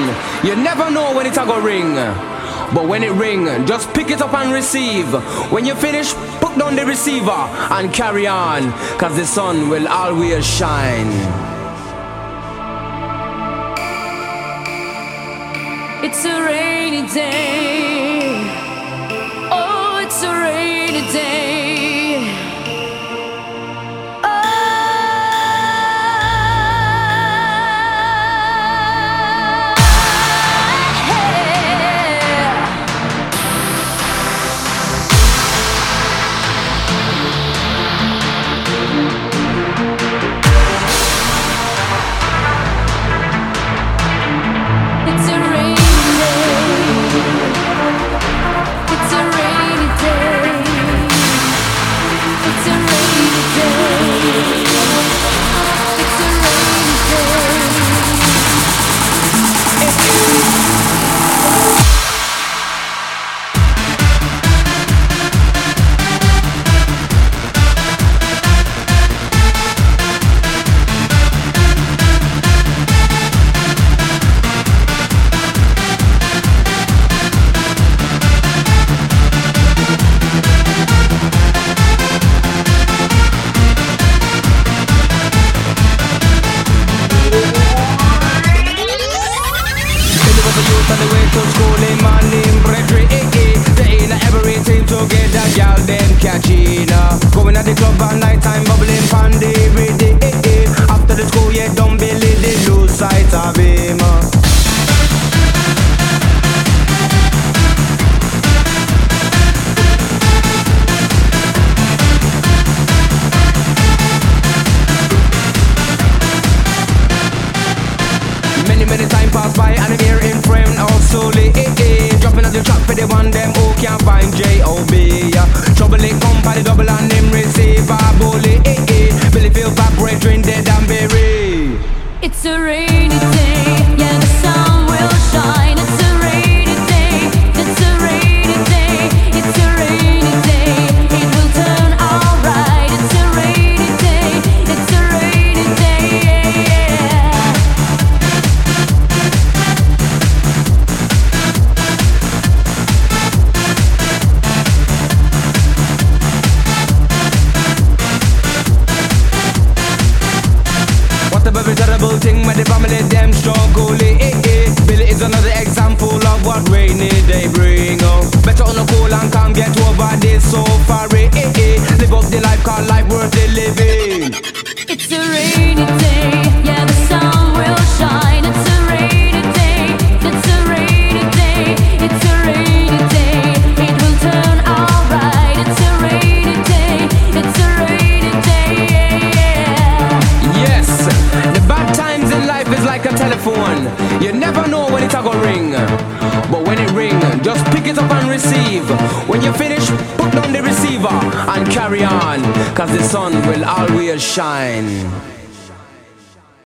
You never know when it's a go ring. But when it ring, just pick it up and receive. When you finish, put down the receiver and carry on, cause the sun will always shine. It's a rainy day. Oh, it's a rainy day. On the way to school in my name, brethren, they ain't everything together, y'all them catching. Going at the club at night time, bubbling pandy every day. After the school, yeah, don't believe they lose sight of him. Many time pass by and I'm here in frame slowly, dropping at the track for the one them who can't find J.O.B. Trouble it come by the double and them receive a bully, Billy feel back, brethren dead and buried. It's a rainy day, yeah, the sun will shine. It's a rainy day, it's a rainy day, it's a rainy day. It will turn alright. It's a rainy day, it's a rainy day, yeah. Every terrible thing with the family them struggle, Billy is another example of what rainy day bring. Better on a cool and calm, get over this so far, Live up the life, call life worth the living. It's a rainy day, yeah, the sun will shine. It's a rainy day, it's a rainy day, it's a rainy day. It will turn alright. It's a rainy day, it's a rainy day, yeah. Yes, the bad times in life is like a telephone. You never know when it's a go ring. But when it ring, just pick it up and receive. When you finish, put down the receiver and carry on, cause the sun will always shine.